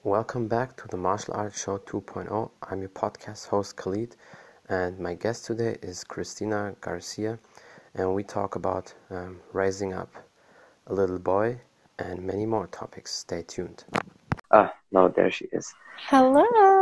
Welcome back to the Martial Arts Show 2.0. I'm your podcast host Khalid, and my guest today is Christina Garcia, and we talk about raising up a little boy and many more topics. Stay tuned. No, there she is. Hello.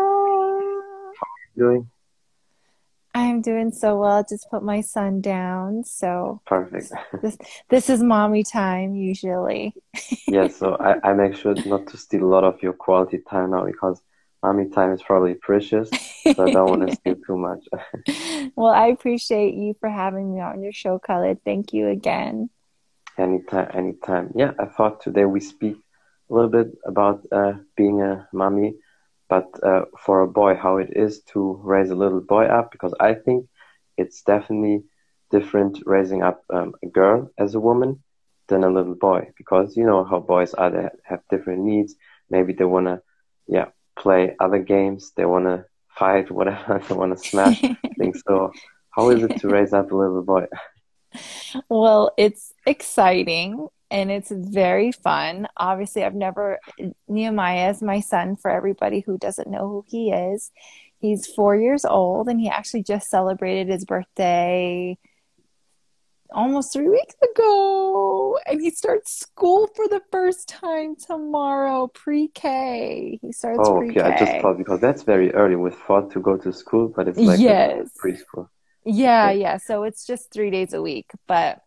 Doing I'm doing so well. Just put my son down. So perfect. this is mommy time usually. Yeah, so I make sure not to steal a lot of your quality time now because mommy time is probably precious, so I don't want to steal too much. Well, I appreciate you for having me on your show, Khalid. Thank you again. Anytime, anytime. Yeah, I thought today we speak a little bit about being a mommy, but for a boy, how it is to raise a little boy up, because I think it's definitely different raising up a girl as a woman than a little boy, because you know how boys are, they have different needs. Maybe they want to, yeah, play other games, they want to fight, whatever, they want to smash things. So how is it to raise up a little boy? Well, it's exciting and it's very fun. Obviously, Nehemiah is my son for everybody who doesn't know who he is. He's 4 years old and he actually just celebrated his birthday almost 3 weeks ago. And he starts school for the first time tomorrow, pre-K. He starts Oh, okay. I just pre-K. thought because that's very early with thought to go to school, but it's like a Yes. preschool. Yeah, Okay. yeah. So it's just 3 days a week. But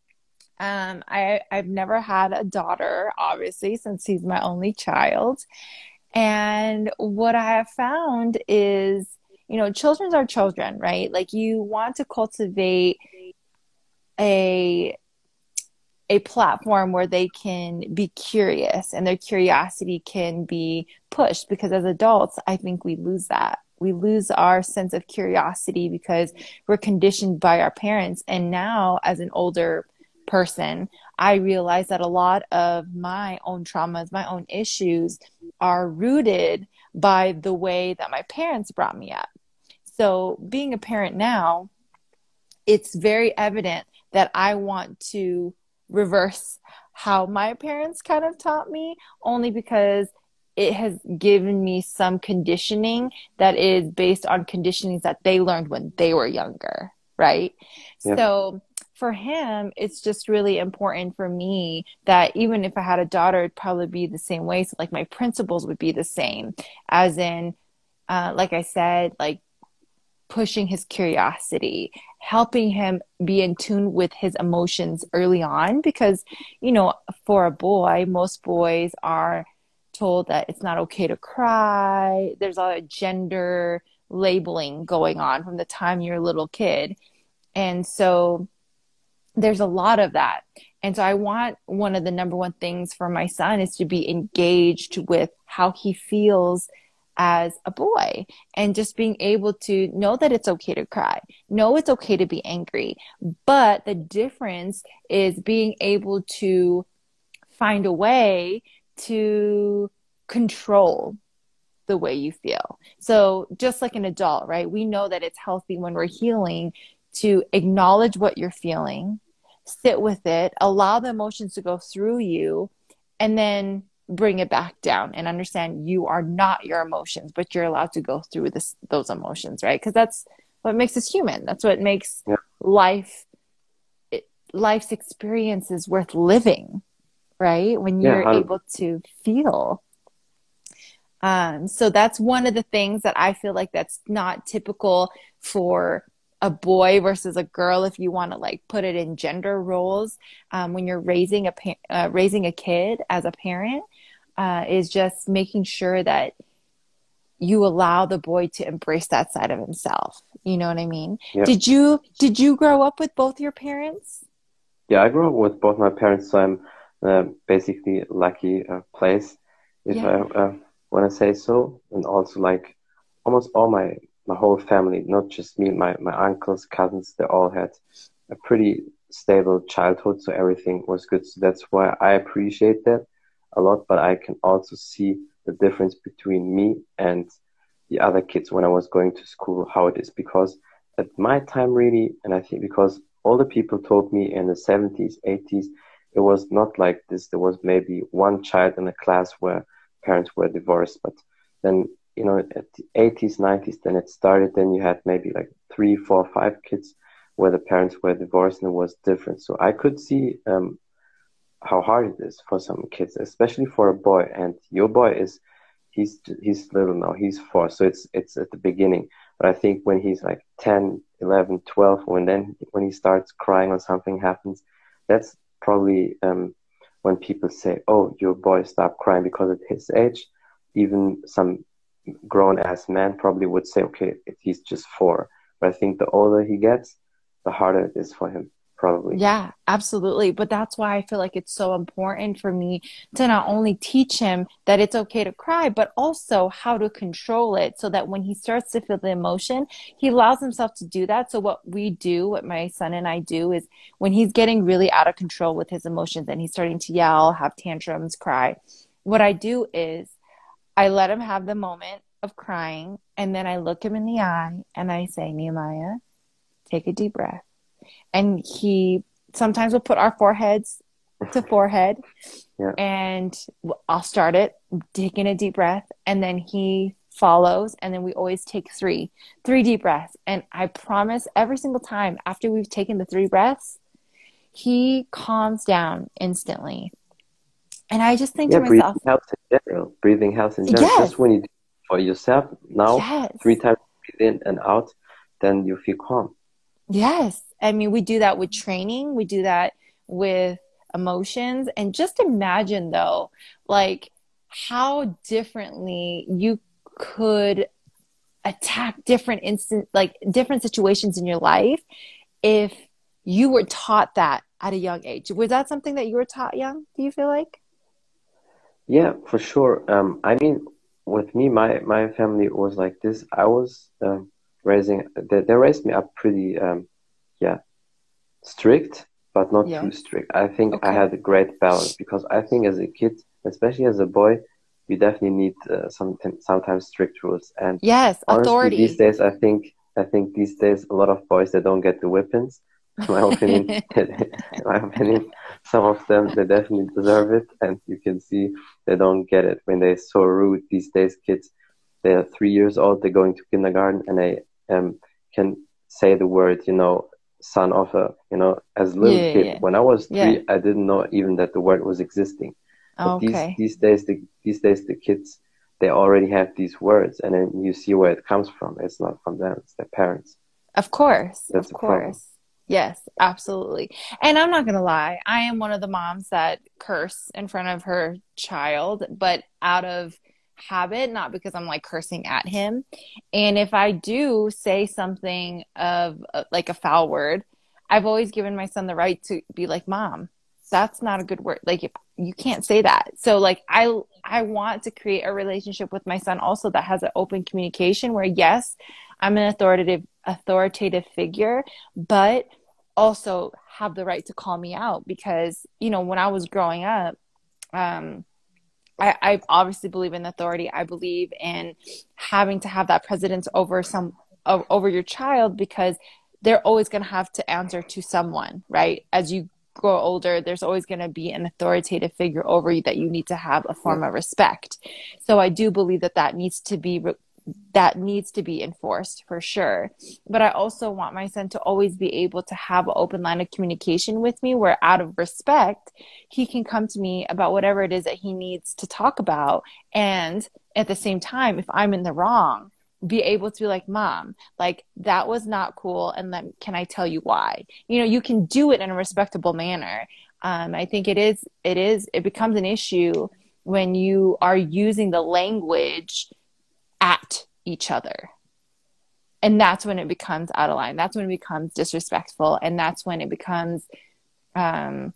I've never had a daughter, obviously, since he's my only child. And what I have found is, children are children, right? Like you want to cultivate a platform where they can be curious and their curiosity can be pushed, because as adults, I think we lose that. We lose our sense of curiosity because we're conditioned by our parents. And now as an older person, I realize that a lot of my own traumas, my own issues are rooted by the way that my parents brought me up. So being a parent now, it's very evident that I want to reverse how my parents kind of taught me, only because it has given me some conditioning that is based on conditionings that they learned when they were younger, right? Yeah. So for him, it's just really important for me that even if I had a daughter, it'd probably be the same way. So like my principles would be the same, as in, like I said, like pushing his curiosity, helping him be in tune with his emotions early on. Because, for a boy, most boys are told that it's not okay to cry. There's a lot of gender labeling going on from the time you're a little kid. And so there's a lot of that. And so I want one of the number one things for my son is to be engaged with how he feels as a boy, and just being able to know that it's okay to cry, know it's okay to be angry. But the difference is being able to find a way to control the way you feel. So just like an adult, right? We know that it's healthy when we're healing to acknowledge what you're feeling, sit with it, allow the emotions to go through you, and then bring it back down and understand you are not your emotions, but you're allowed to go through those emotions, right? Because that's what makes us human. That's what makes Yeah. life's experiences worth living, right? When Yeah. you're able to feel. So that's one of the things that I feel like that's not typical for a boy versus a girl, if you want to like put it in gender roles. When you're raising a kid as a parent, is just making sure that you allow the boy to embrace that side of himself. You know what I mean? Yeah. Did you grow up with both your parents? Yeah, I grew up with both my parents, so I'm basically lucky place, if I want to say so. And also like almost all my whole family, not just me, my uncles, cousins, they all had a pretty stable childhood, so everything was good. So that's why I appreciate that a lot. But I can also see the difference between me and the other kids when I was going to school, how it is. Because at my time, really, and I think because all the people told me in the 70s, 80s, it was not like this. There was maybe one child in a class where parents were divorced. But then, at the 80s, 90s, then it started. Then you had maybe like 3, 4, 5 kids where the parents were divorced, and it was different. So I could see how hard it is for some kids, especially for a boy. And your boy he's little now, he's 4, so it's at the beginning. But I think when he's like 10, 11, 12, when he starts crying or something happens, that's probably when people say, oh, your boy stopped crying, because at his age, even some grown ass man probably would say, okay, he's just 4. But I think the older he gets, the harder it is for him, probably. Yeah, absolutely. But that's why I feel like it's so important for me to not only teach him that it's okay to cry, but also how to control it so that when he starts to feel the emotion, he allows himself to do that. So what my son and I do is when he's getting really out of control with his emotions and he's starting to yell, have tantrums, cry, what I do is I let him have the moment of crying, and then I look him in the eye and I say, Nehemiah, take a deep breath. And he sometimes will put our foreheads to forehead, Yeah. and I'll start it, taking a deep breath, and then he follows, and then we always take three deep breaths. And I promise every single time after we've taken the 3 breaths, he calms down instantly. And I just think to myself, breathing helps in general. yes, Just when you do it for yourself now, yes, 3 times breathe in and out, then you feel calm. yes. I mean, we do that with training. We do that with emotions. And just imagine, though, like how differently you could attack different situations in your life if you were taught that at a young age. Was that something that you were taught young, do you feel like? Yeah, for sure. I mean, with me, my family was like this. I was they raised me up pretty, yeah, strict, but not too Yes. strict. I think I Okay. had a great balance, because I think as a kid, especially as a boy, you definitely need sometimes strict rules. And Yes, honestly, these authority. days, I think these days a lot of boys, they don't get the whippings. In my opinion, in my opinion, some of them, they definitely deserve it, and you can see they don't get it when they're so rude. These days, kids, they're 3 years old, they're going to kindergarten, and they can say the word, son of a, as a little Yeah, kid. yeah, When I was yeah. 3, I didn't know even that the word was existing. But Okay. these days the kids, they already have these words, and then you see where it comes from. It's not from them; it's their parents. Of course, That's of a problem. course. Yes, absolutely. And I'm not gonna lie, I am one of the moms that curse in front of her child, but out of habit, not because I'm like cursing at him. And if I do say something of like a foul word, I've always given my son the right to be like, "Mom, that's not a good word. Like you can't say that." So like I want to create a relationship with my son also that has an open communication where yes, I'm an authoritative figure, but also have the right to call me out because, when I was growing up, um, I obviously believe in authority. I believe in having to have that precedence over your child because they're always going to have to answer to someone, right? As you grow older, there's always going to be an authoritative figure over you that you need to have a Yeah, form of respect. So I do believe that needs to be enforced for sure. But I also want my son to always be able to have an open line of communication with me where out of respect, he can come to me about whatever it is that he needs to talk about. And at the same time, if I'm in the wrong, be able to be like, Mom, like that was not cool. And then can I tell you why? You can do it in a respectable manner. I think it becomes an issue when you are using the language at each other. And that's when it becomes out of line. That's when it becomes disrespectful. And that's when it becomes, um,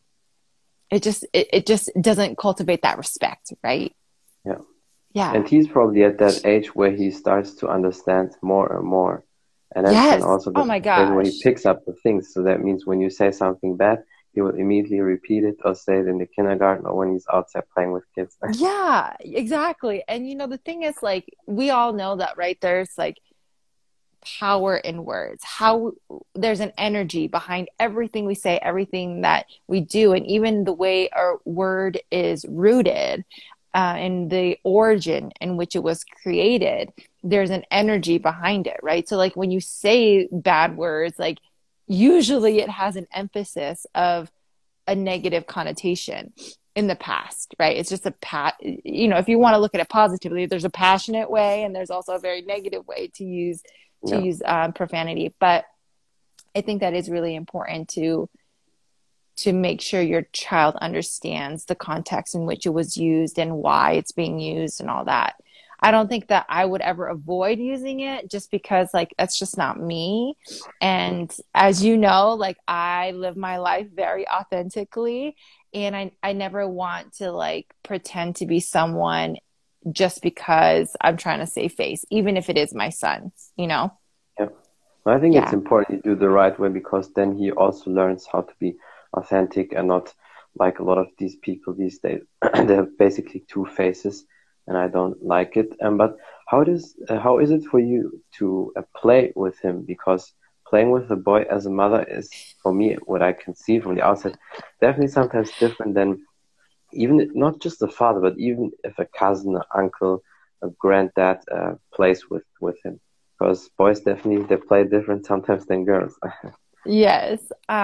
it just doesn't cultivate that respect, right? yeah. Yeah. And he's probably at that age where he starts to understand more and more. And that's then Yes. also Oh the my phase where he gosh. picks up the things. So that means when you say something bad, he will immediately repeat it or say it in the kindergarten or when he's outside playing with kids. Yeah, exactly. And the thing is like, we all know that, right? There's like power in words, how there's an energy behind everything we say, everything that we do, and even the way our word is rooted. and the origin in which it was created, there's an energy behind it, right? So like when you say bad words, like usually it has an emphasis of a negative connotation in the past, right? It's just if you want to look at it positively, there's a passionate way and there's also a very negative way to use profanity. But I think that is really important to make sure your child understands the context in which it was used and why it's being used and all that. I don't think that I would ever avoid using it just because like that's just not me. And as you know, like I live my life very authentically, and I never want to like pretend to be someone just because I'm trying to save face, even if it is my son, you know? Yeah. Well, I think it's important you do the right way, because then he also learns how to be authentic and not like a lot of these people these days. They have basically two faces, and I don't like it. But how is it for you to play with him? Because playing with a boy as a mother is, for me, what I can see from the outside, definitely sometimes different than even not just the father, but even if a cousin, an uncle, a granddad plays with him. Because boys definitely, they play different sometimes than girls. Yes.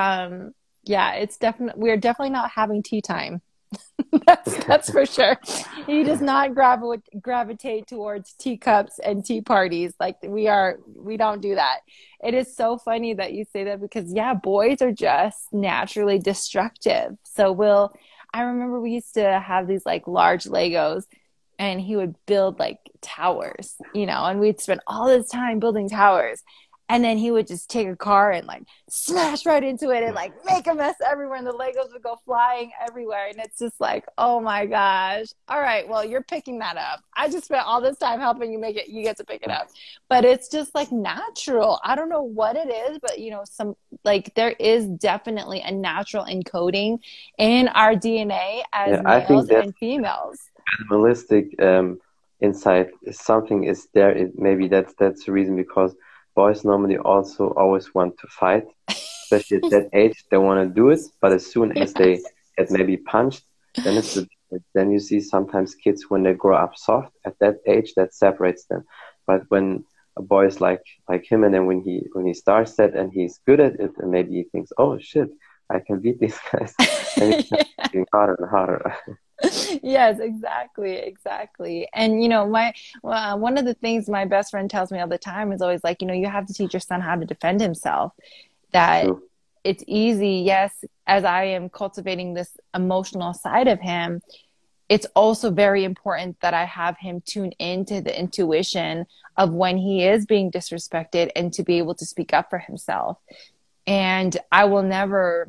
It's definitely, we're definitely not having tea time. That's for sure. He does not gravitate towards teacups and tea parties. Like we don't do that. It is so funny that you say that because boys are just naturally destructive. So I remember we used to have these like large Legos, and he would build like towers, and we'd spend all this time building towers. And then he would just take a car and like smash right into it and like make a mess everywhere, and the Legos would go flying everywhere. And it's just like, oh my gosh. All right, well, you're picking that up. I just spent all this time helping you make it. You get to pick it up. But it's just like natural. I don't know what it is, but there is definitely a natural encoding in our DNA as males and females. Animalistic insight, something is there. Maybe that's the reason, because boys normally also always want to fight, especially at that age. They want to do it, but as soon as they get maybe punched, then you see sometimes kids, when they grow up soft at that age, that separates them. But when a boy is like him, and then when he starts that and he's good at it, and maybe he thinks, oh shit, I can beat these guys, and he's getting harder and harder. Yes, exactly. And one of the things my best friend tells me all the time is always like, you have to teach your son how to defend himself. That True. It's easy, yes, as I am cultivating this emotional side of him, it's also very important that I have him tune into the intuition of when he is being disrespected and to be able to speak up for himself. And I will never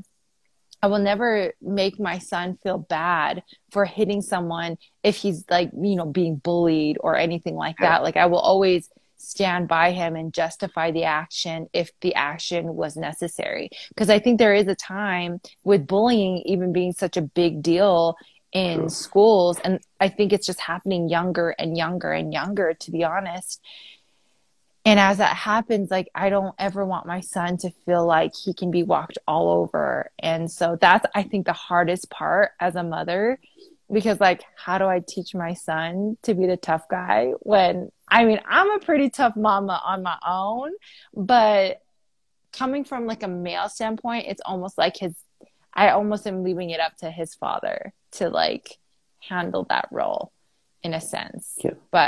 make my son feel bad for hitting someone if he's like, being bullied or anything like that. Like I will always stand by him and justify the action if the action was necessary. Because I think there is a time with bullying even being such a big deal in True. Schools. And I think it's just happening younger and younger and younger, to be honest. And as that happens, like, I don't ever want my son to feel like he can be walked all over. And so that's, I think, the hardest part as a mother, because like, how do I teach my son to be the tough guy when, I'm a pretty tough mama on my own, but coming from like a male standpoint, it's almost like I almost am leaving it up to his father to like handle that role in a sense. Yeah. But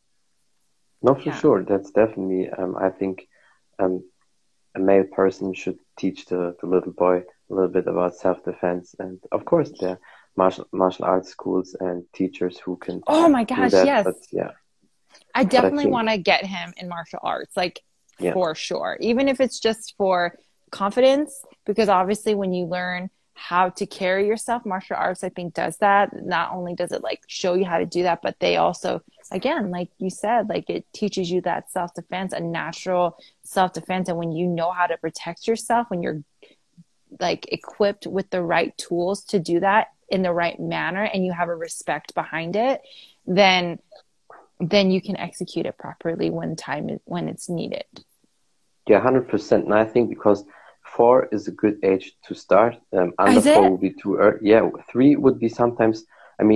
no, for sure. That's definitely, I think a male person should teach the little boy a little bit about self-defense. And of course, there are martial arts schools and teachers who can Oh my gosh, do that, yes. But, yeah. I definitely want to get him in martial arts, like for sure. Even if it's just for confidence, because obviously when you learn how to carry yourself, martial arts, I think, does that. Not only does it like show you how to do that, but they also, again, like you said, like it teaches you that self-defense, a natural self-defense. And when you know how to protect yourself, when you're like equipped with the right tools to do that in the right manner, and you have a respect behind it, then you can execute it properly when it's needed. Yeah, 100%. And I think because 4 is a good age to start. Under 4 would be too early. Yeah, 3 would be sometimes,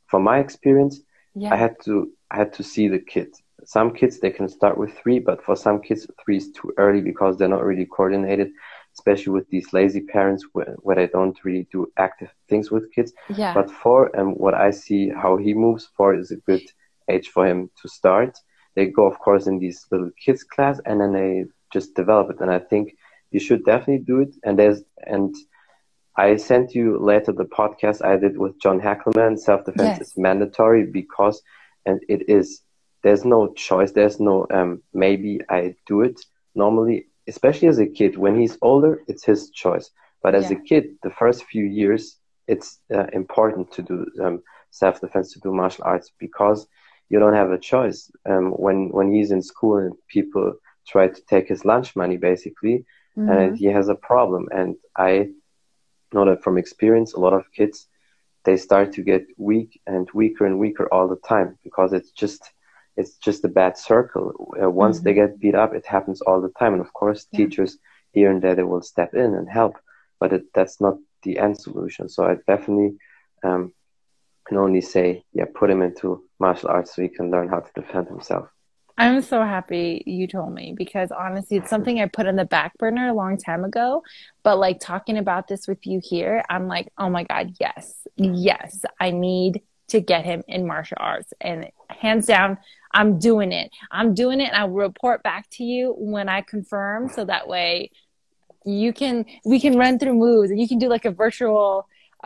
from my experience, Yeah. I had to see the kids. Some kids, they can start with 3, but for some kids, 3 is too early because they're not really coordinated, especially with these lazy parents where they don't really do active things with kids. Yeah. But 4, and what I see how he moves, 4 is a good age for him to start. They go, of course, in these little kids class, and then they just develop it. And I think you should definitely do it. And I sent you later the podcast I did with John Hackleman. Self-defense is mandatory because, and it is, there's no choice. There's no, maybe I do it normally, especially as a kid. When he's older, it's his choice. But as a kid, the first few years, it's important to do self-defense, to do martial arts, because you don't have a choice. When he's in school and people try to take his lunch money, basically, and he has a problem. And I know that from experience, a lot of kids, they start to get weak and weaker all the time, because it's just a bad circle. Once they get beat up, it happens all the time. And of course, teachers here and there, they will step in and help, but that's not the end solution. So I definitely can only say, put him into martial arts so he can learn how to defend himself. I'm so happy you told me, because honestly, it's something I put on the back burner a long time ago. But like talking about this with you here, I'm like, oh my God, yes, I need to get him in martial arts. And hands down, I'm doing it. And I'll report back to you when I confirm. So that way we can run through moves, and you can do like a virtual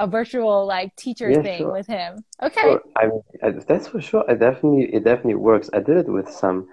like teacher thing with him. Okay. Sure. I mean, that's for sure. It definitely works. I did it with some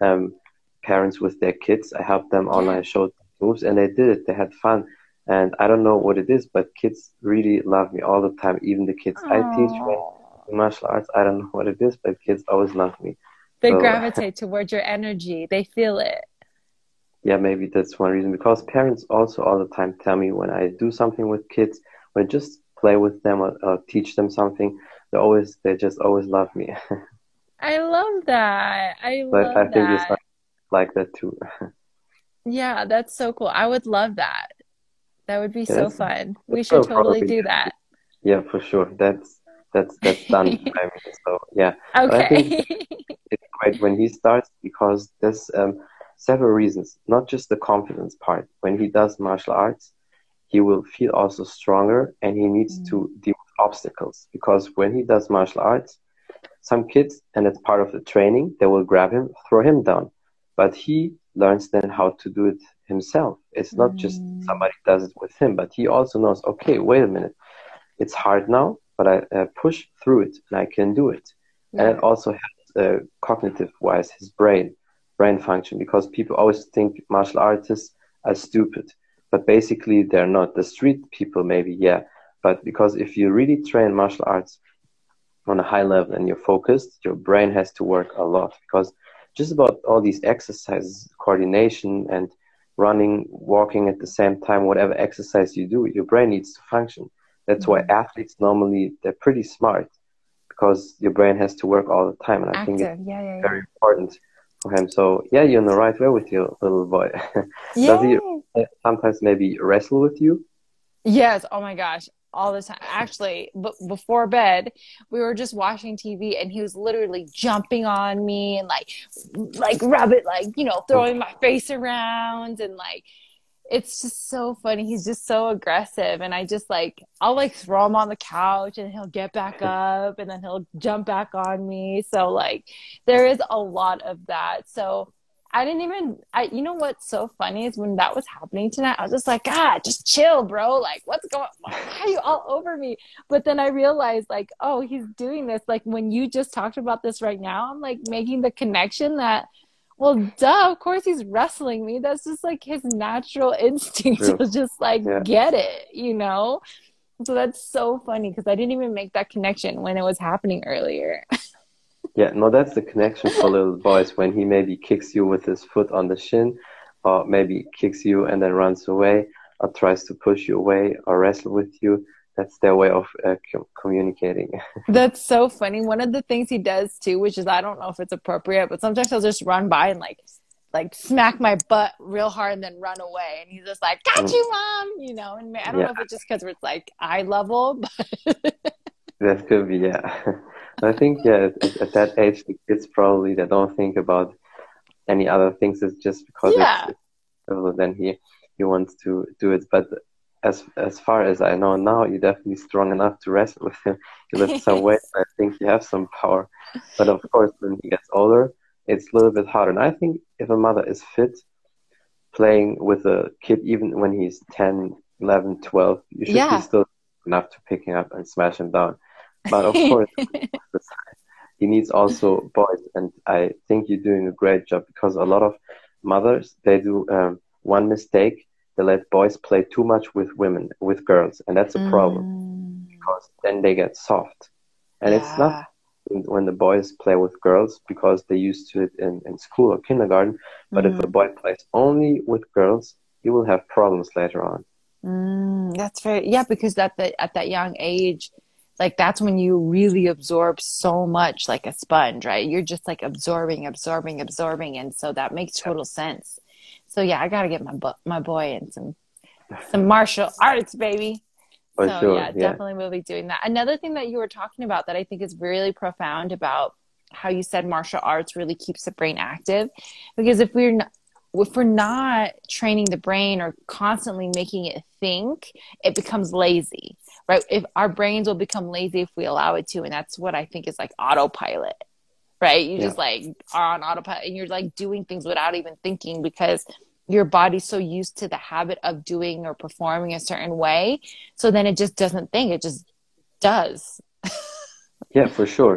parents with their kids. I helped them online, showed moves, and they did it. They had fun. And I don't know what it is, but kids really love me all the time. Even the kids I teach martial arts, I don't know what it is, but kids always love me. They gravitate towards your energy. They feel it. Yeah, maybe that's one reason. Because parents also all the time tell me when I do something with kids, when I just play with them or teach them something, they just always love me. I love that. I think it's like that too. Yeah, that's so cool. I would love that. That would be so fun. We should totally do that. Yeah, for sure. That's done. I mean, so yeah. Okay. But I think it's great when he starts, because there's several reasons, not just the confidence part. When he does martial arts, he will feel also stronger, and he needs to deal with obstacles, because when he does martial arts, some kids, and it's part of the training, they will grab him, throw him down, but he learns then how to do it himself. It's not just somebody does it with him, but he also knows, okay, wait a minute, it's hard now, but I push through it and I can do it. And it also helps cognitive wise his brain function, because people always think martial artists are stupid, but basically they're not. The street people maybe, but because if you really train martial arts on a high level and you're focused, your brain has to work a lot, because just about all these exercises, coordination and running, walking at the same time, whatever exercise you do, your brain needs to function. That's why athletes normally, they're pretty smart, because your brain has to work all the time. And I think it's very important for him. So yeah, you're in the right way with your little boy. Does he sometimes maybe wrestle with you? Yes. Oh my gosh. All the time. Actually, before bed, we were just watching TV, and he was literally jumping on me and like rabbit, throwing my face around, and it's just so funny. He's just so aggressive, and I just I'll throw him on the couch, and he'll get back up, and then he'll jump back on me. So there is a lot of that. So you know what's so funny is when that was happening tonight, I was just like, God, just chill, bro. What's going on? Why are you all over me? But then I realized oh, he's doing this. When you just talked about this right now, I'm making the connection that, well, duh, of course he's wrestling me. That's just his natural instinct to just get it, you know? So that's so funny, because I didn't even make that connection when it was happening earlier. Yeah, no, that's the connection for little boys, when he maybe kicks you with his foot on the shin, or maybe kicks you and then runs away, or tries to push you away, or wrestle with you. That's their way of communicating. That's so funny. One of the things he does too, which is, I don't know if it's appropriate, but sometimes he'll just run by and smack my butt real hard and then run away. And he's just like, got you, Mom, you know? And I don't know if it's just because it's eye level, but that could be, yeah. I think, yeah, at that age, the kids probably they don't think about any other things. It's just because Yeah. then he wants to do it. But as far as I know now, you're definitely strong enough to wrestle with him. You lift some weight. I think you have some power. But of course, when he gets older, it's a little bit harder. And I think if a mother is fit, playing with a kid, even when he's 10, 11, 12, you should be Yeah. still enough to pick him up and smash him down. But of course, he needs also boys, and I think you're doing a great job because a lot of mothers they do one mistake. They let boys play too much with women, with girls, and that's a problem because then they get soft. And it's not Yeah. when the boys play with girls because they used to it in school or kindergarten. But if a boy plays only with girls, he will have problems later on. That's very, yeah, because at that young age, like that's when you really absorb so much like a sponge, right? You're just like absorbing. And so that makes total sense. So yeah, I got to get my boy in some martial arts, baby. For So sure, yeah, yeah. definitely will be doing that. Another thing that you were talking about that I think is really profound about how you said martial arts really keeps the brain active, because if we're not training the brain or constantly making it think, it becomes lazy, right? If our brains will become lazy if we allow it to, and that's what I think is like autopilot, right? You just like are on autopilot and you're like doing things without even thinking because your body's so used to the habit of doing or performing a certain way. So then it just doesn't think, it just does. Yeah, for sure.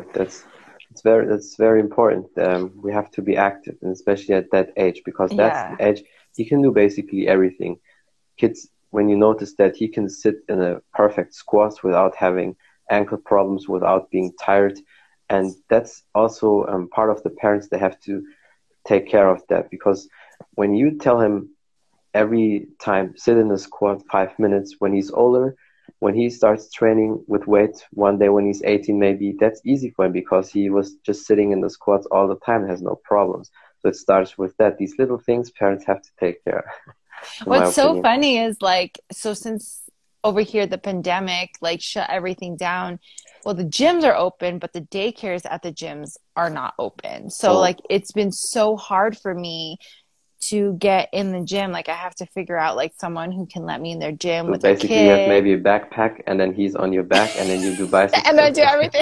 That's very important. We have to be active, and especially at that age, because that's the Yeah. age he can do basically everything. Kids, when you notice that he can sit in a perfect squat without having ankle problems, without being tired, and that's also part of the parents. They have to take care of that because when you tell him every time sit in a squat 5 minutes when he's older, when he starts training with weight one day when he's 18 maybe, that's easy for him because he was just sitting in the squats all the time, has no problems. So it starts with that. These little things parents have to take care, in my What's so opinion. funny is like, so since over here the pandemic like shut everything down, well, the gyms are open, but the daycares at the gyms are not open. So Oh, like it's been so hard for me to get in the gym. Like I have to figure out like someone who can let me in their gym so with a basically you have kid maybe a backpack and then he's on your back and then you do biceps. and then do everything.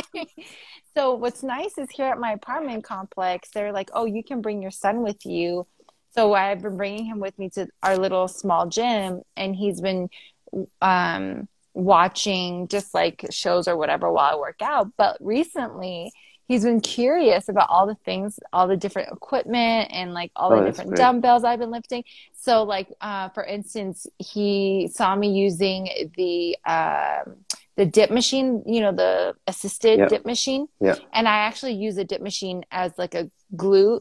So what's nice is here at my apartment complex, they're like, oh, you can bring your son with you. So I've been bringing him with me to our little small gym, and he's been watching just like shows or whatever while I work out. But recently, he's been curious about all the things, all the different equipment, and like all the Oh, that's different great. dumbbells I've been lifting. So, like for instance, he saw me using the dip machine, you know, the assisted Yeah, dip machine, yeah. and I actually use a dip machine as like a glute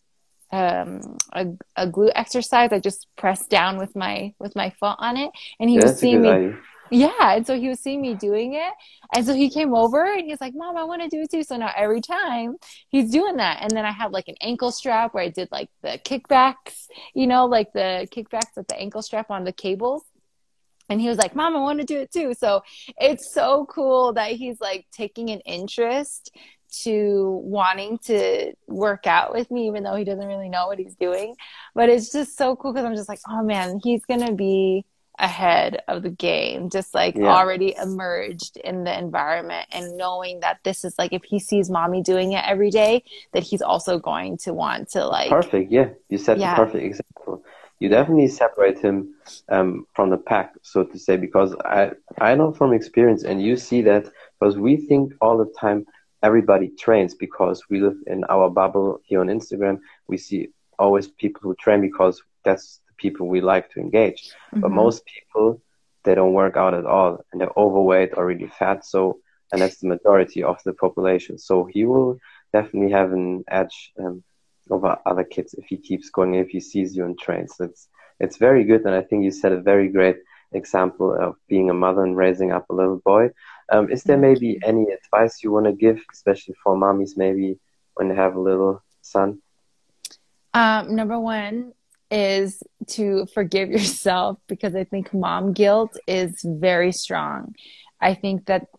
a glute exercise. I just pressed down with my foot on it, and he Yeah, was that's a seeing good me. idea. Yeah, and so he was seeing me doing it, and so he came over and he's like, "Mom, I want to do it too." So now every time he's doing that, and then I have like an ankle strap where I did like the kickbacks, you know, like the kickbacks with the ankle strap on the cables. And he was like, Mom, I want to do it too. So it's so cool that he's like taking an interest to wanting to work out with me, even though he doesn't really know what he's doing. But it's just so cool because I'm just like, oh man, he's going to be ahead of the game, just like Yeah, already emerged in the environment and knowing that this is like, if he sees mommy doing it every day, that he's also going to want to like, perfect. Yeah, you set the yeah, perfect example. You yeah. definitely separate him from the pack, so to say, because I know from experience, and you see that because we think all the time everybody trains because we live in our bubble here on Instagram. We see always people who train because that's the people we like to engage. But Mm-hmm. most people they don't work out at all, and they're overweight or really fat. So, and that's the majority of the population. So he will definitely have an edge. Over other kids if he keeps going, if he sees you and trains. It's very good, and I think you set a very great example of being a mother and raising up a little boy. Is there Thank maybe you. any advice you want to give, especially for mommies, maybe when they have a little son? Number one is to forgive yourself because I think mom guilt is very strong. I think that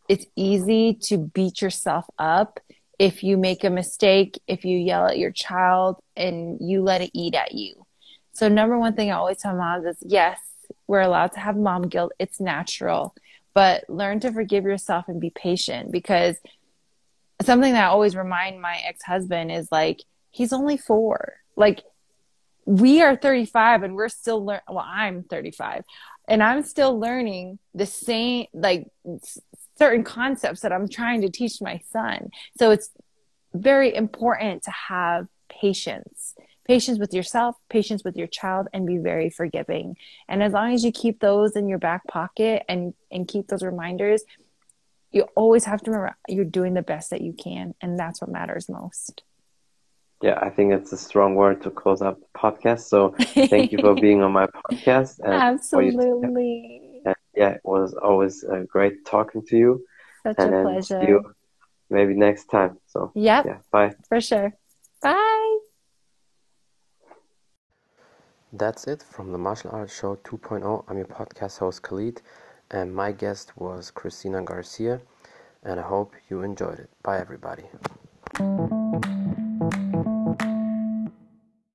it's easy to beat yourself up if you make a mistake, if you yell at your child and you let it eat at you. So number one thing I always tell moms is yes, we're allowed to have mom guilt. It's natural, but learn to forgive yourself and be patient, because something that I always remind my ex-husband is like, he's only 4. Like, we are 35 and we're still well, I'm 35 and I'm still learning the same, like, certain concepts that I'm trying to teach my son. So it's very important to have patience with yourself, patience with your child, and be very forgiving. And as long as you keep those in your back pocket and keep those reminders, you always have to remember you're doing the best that you can, and that's what matters most. Yeah, I think it's a strong word to close up the podcast. So thank you for being on my podcast and for you. Absolutely. And yeah, it was always great talking to you. Such And a then see you pleasure. maybe next time. So Yep, yeah, bye. for sure. Bye. That's it from the Martial Arts Show 2.0. I'm your podcast host Khalid, and my guest was Christina Garcia, and I hope you enjoyed it. Bye, everybody.